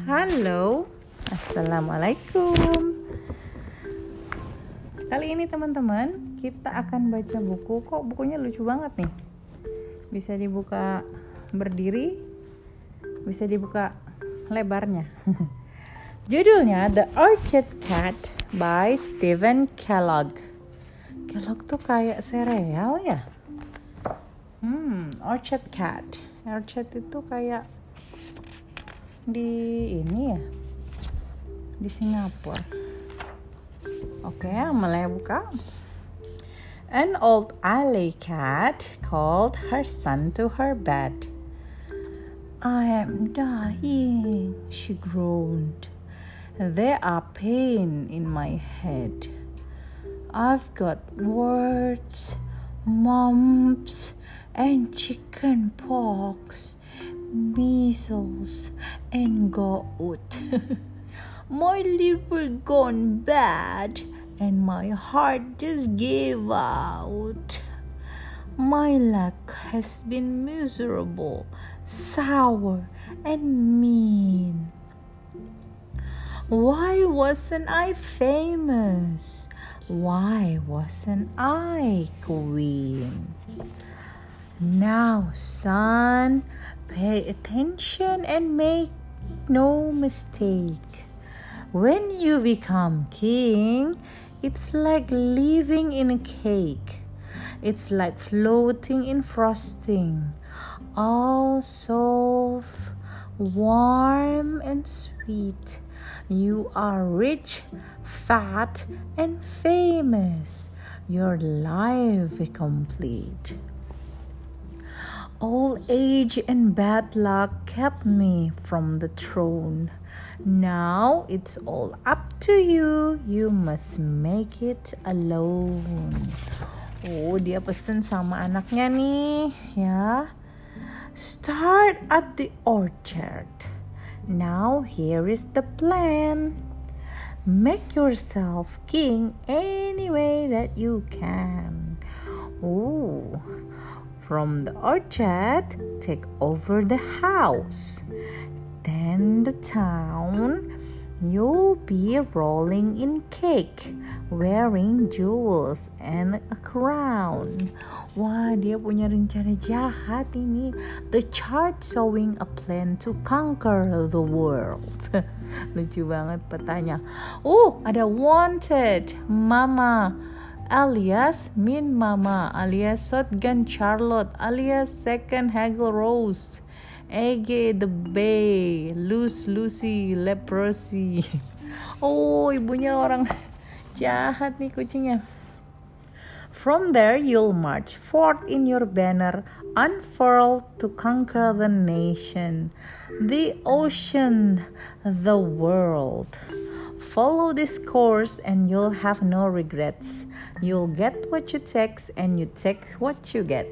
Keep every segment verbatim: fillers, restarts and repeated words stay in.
Halo, Assalamualaikum. Kali ini teman-teman, kita akan baca buku. Kok bukunya lucu banget nih. Bisa dibuka berdiri, bisa dibuka lebarnya. Judulnya The Orchard Cat by Stephen Kellogg. Kellogg tuh kayak sereal ya. Hmm, Orchard Cat. Orchard itu kayak di ini ya, di Singapura. Oke, mulai buka. An old alley cat called her son to her bed. I am dying, she groaned. There are pain in my head. I've got warts, mumps, and chicken pox, measles, and gout. My liver gone bad, and my heart just gave out. My luck has been miserable, sour, and mean. Why wasn't I famous? Why wasn't I queen? Now, son, pay attention and make no mistake. When you become king, it's like living in a cake. It's like floating in frosting, all soft, warm, and sweet. You are rich, fat, and famous. Your life is complete. Old age and bad luck kept me from the throne. Now it's all up to you. You must make it alone. Oh, dia pesen sama anaknya nih, ya. Start at the orchard. Now here is the plan. Make yourself king any way that you can. Oh. From the orchard, take over the house. Then the town, you'll be rolling in cake, wearing jewels and a crown. Wah, dia punya rencana jahat ini. The chart showing a plan to conquer the world. Lucu banget petanya. Oh, ada wanted, mama, alias Min Mama, alias Shotgun Charlotte, alias Second Hagel Rose, Ege the Bay, Loose Lucy, Leprosy. Oh, ibunya orang jahat nih kucingnya. From there you'll march forth in your banner unfurled to conquer the nation, the ocean, the world. Follow this course and you'll have no regrets. You'll get what you take and you take what you get.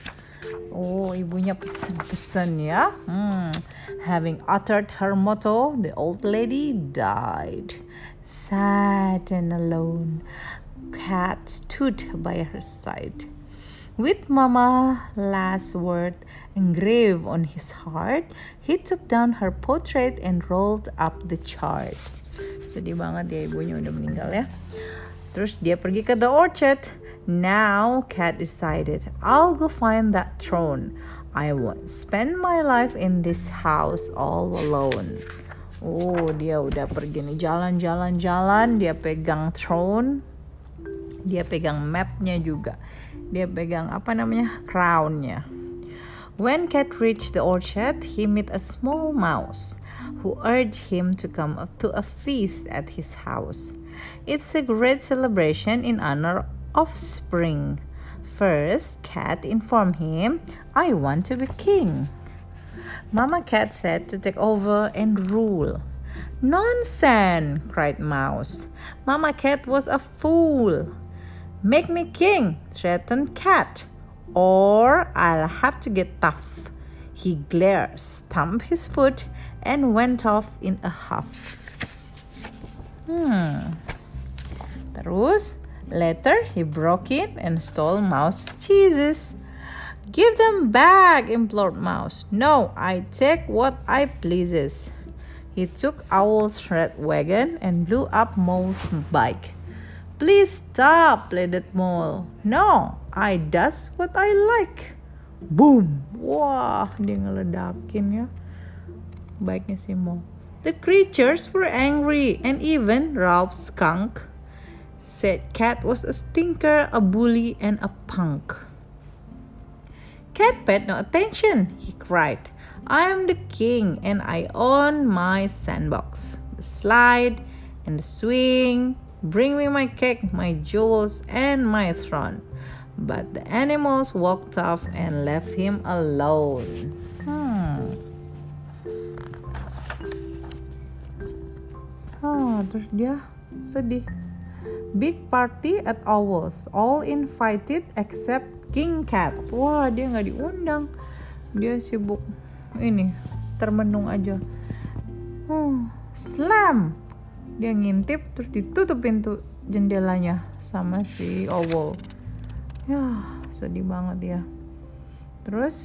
Oh, ibunya pesen-pesen ya. Hmm. Having uttered her motto, the old lady died. Sad and alone, Cat stood by her side. With Mama last word engraved on his heart, he took down her portrait and rolled up the chart. Sedih banget ya, ibunya udah meninggal ya. Terus dia pergi ke the orchard. Now Cat decided, I'll go find that throne. I won't spend my life in this house all alone. Oh, dia udah pergi nih, jalan-jalan-jalan. Dia pegang throne. Dia pegang mapnya juga. Dia pegang apa namanya, crownnya. When Cat reached the orchard, he met a small mouse who urged him to come to a feast at his house. It's a great celebration in honor of spring. First, Cat informed him, I want to be king. Mama Cat said to take over and rule. Nonsense, cried Mouse. Mama Cat was a fool. Make me king, threatened Cat, or I'll have to get tough. He glared, stamped his foot, and went off in a huff. Hmm. Terus, later he broke in and stole Mouse's cheeses. Give them back, implored Mouse. No, I take what I pleases. He took Owl's red wagon and blew up Mole's bike. "Please stop," pleaded Mole. "No, I does what I like." Boom! Wah, dia ngeledakin ya bike-nya si Mole. The creatures were angry, and even Ralph Skunk said Cat was a stinker, a bully, and a punk. Cat paid no attention. He cried, "I am the king, and I own my sandbox, the slide, and the swing. Bring me my cake, my jewels, and my throne." But the animals walked off and left him alone. Hmm. Oh, terus dia sedih. Big party at Owl's, all invited except King Cat. Wah, dia nggak diundang. Dia sibuk ini termenung aja. Hmm, slam. Dia ngintip terus ditutup pintu jendelanya sama si Owl. Ya, sedih banget ya. Terus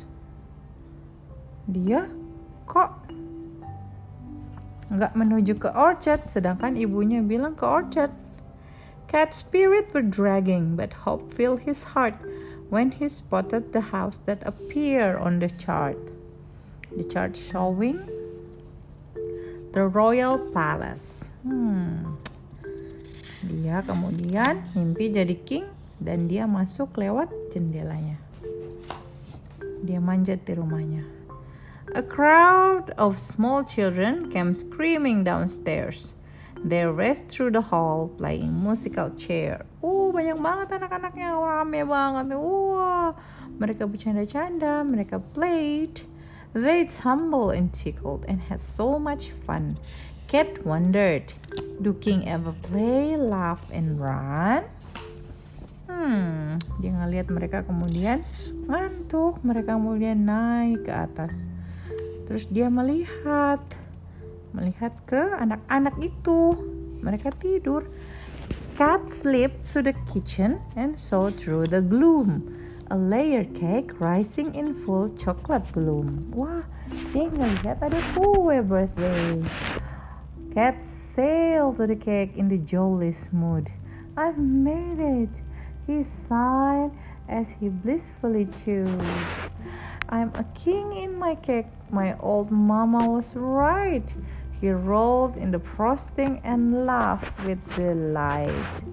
dia kok nggak menuju ke orchard, sedangkan ibunya bilang ke orchard. Cat's spirit were dragging, but hope filled his heart when he spotted the house that appeared on the chart. The chart showing the royal palace. Hmm. Dia kemudian mimpi jadi king dan dia masuk lewat jendelanya. Dia manjat di rumahnya. A crowd of small children came screaming downstairs. They raced through the hall playing musical chair. Oh, banyak banget anak-anaknya, rame banget. Wah, mereka bercanda-canda, mereka played. They tumbled and tickled and had so much fun. Cat wondered, do King ever play, laugh, and run? Hmm, dia ngeliat mereka kemudian ngantuk, mereka kemudian naik ke atas. Terus dia melihat, melihat ke anak-anak itu, mereka tidur. Cat slipped to the kitchen and saw through the gloom a layer cake rising in full chocolate bloom. Wah, dia ngelihat ada kue birthday. Cat sailed to the cake in the jolliest mood. I've made it, he sighed as he blissfully chewed. I'm a king in my cake, my old mama was right. He rolled in the frosting and laughed with delight.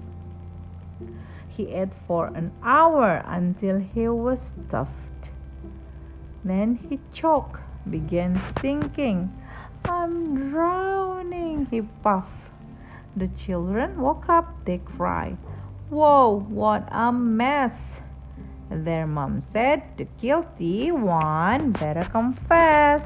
He ate for an hour until he was stuffed. Then he choked, began sinking. I'm drowning, he puffed. The children woke up, they cried. Whoa, what a mess! Their mom said, the guilty one better confess.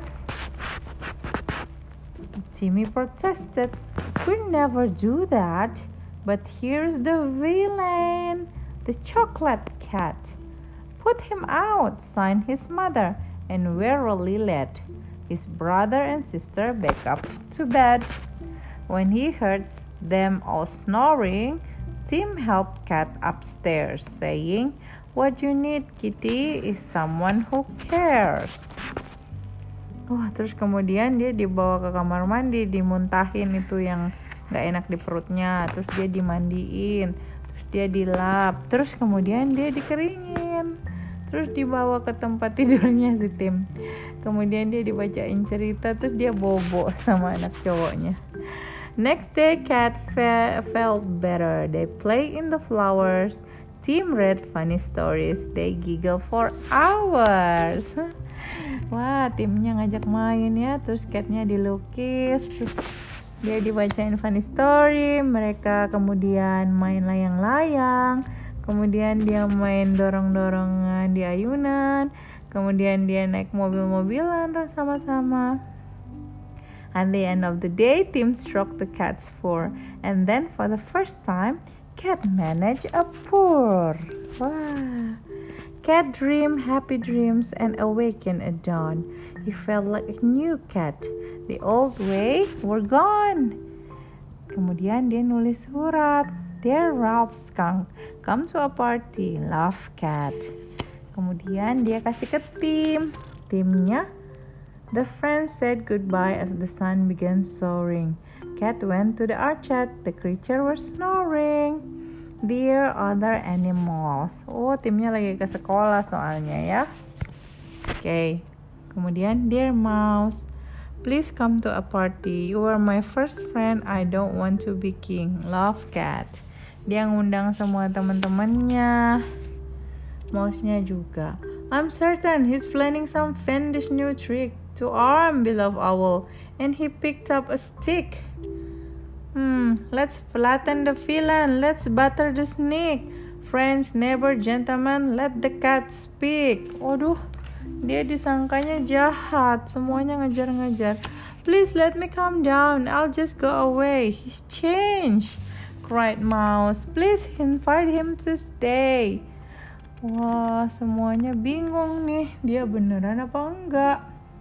Timmy protested, we'll never do that. But here's the villain, the chocolate cat. Put him out, signed his mother, and wearily led his brother and sister back up to bed. When he heard them all snoring, Tim helped Cat upstairs, saying, what you need, Kitty, is someone who cares. Wah, terus kemudian dia dibawa ke kamar mandi, dimuntahin itu yang gak enak di perutnya, terus dia dimandiin, terus dia dilap, terus kemudian dia dikeringin, terus dibawa ke tempat tidurnya si Tim. Kemudian dia dibacain cerita, terus dia bobo sama anak cowoknya. Next day, Cat fe- felt better. They play in the flowers. Tim read funny stories. They giggle for hours. Wah, timnya ngajak main ya. Terus Catnya dilukis. Terus dia dibacain funny story. Mereka kemudian main layang-layang. Kemudian dia main dorong-dorongan di ayunan. Kemudian dia naik mobil-mobilan sama-sama. At the end of the day, Tim stroked the cat's fur. And then for the first time, Cat managed a purr. Wow. Cat dreamed happy dreams and awakened at dawn. He felt like a new cat. The old way were gone. Kemudian dia nulis surat. Dear Ralph Skunk, come to a party. Love, Cat. Kemudian dia kasih ke Tim. Timnya The friends said goodbye as the sun began soaring. Cat went to the orchard. The creature was snoring. Dear other animals. Oh, timnya lagi ke sekolah soalnya ya. Oke. Okay. Kemudian, dear mouse, please come to a party. You are my first friend. I don't want to be king. Love, Cat. Dia ngundang semua teman-temannya. Mouse-nya juga. I'm certain he's planning some fiendish new trick to harm beloved owl. And he picked up a stick. Hmm, let's flatten the villain. Let's butter the snake. Friends, neighbor, gentlemen, let the cat speak. Waduh, dia disangkanya jahat. Semuanya ngejar-ngejar. Please let me calm down. I'll just go away. He's changed, cried Mouse. Please invite him to stay. Wah, semuanya bingung nih. Dia beneran apa enggak?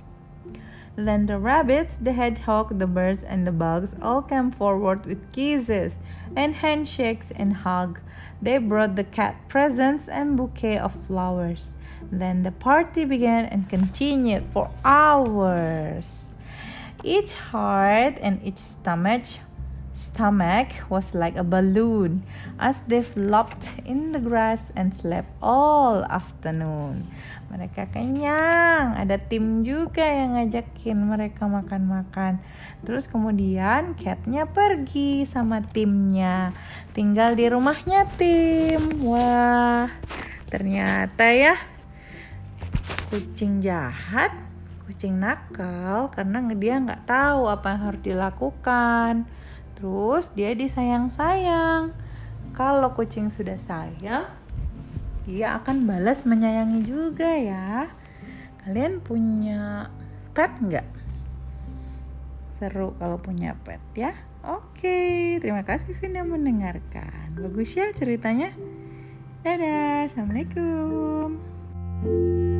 Then the rabbits, the hedgehog, the birds, and the bugs all came forward with kisses and handshakes and hugs. They brought the cat presents and bouquet of flowers. Then the party began and continued for hours. Each heart and each stomach stomach was like a balloon as they flopped in the grass and slept all afternoon. Mereka kenyang. Ada tim juga yang ngajakin mereka makan-makan. Terus kemudian catnya pergi sama timnya. Tinggal di rumahnya tim. Wah, ternyata ya kucing jahat, kucing nakal karena dia nggak tahu apa yang harus dilakukan. Terus dia disayang-sayang. Kalau kucing sudah sayang, dia akan balas menyayangi juga ya. Kalian punya pet nggak? Seru kalau punya pet ya. Oke, terima kasih sudah mendengarkan. Bagus ya ceritanya. Dadah, assalamualaikum.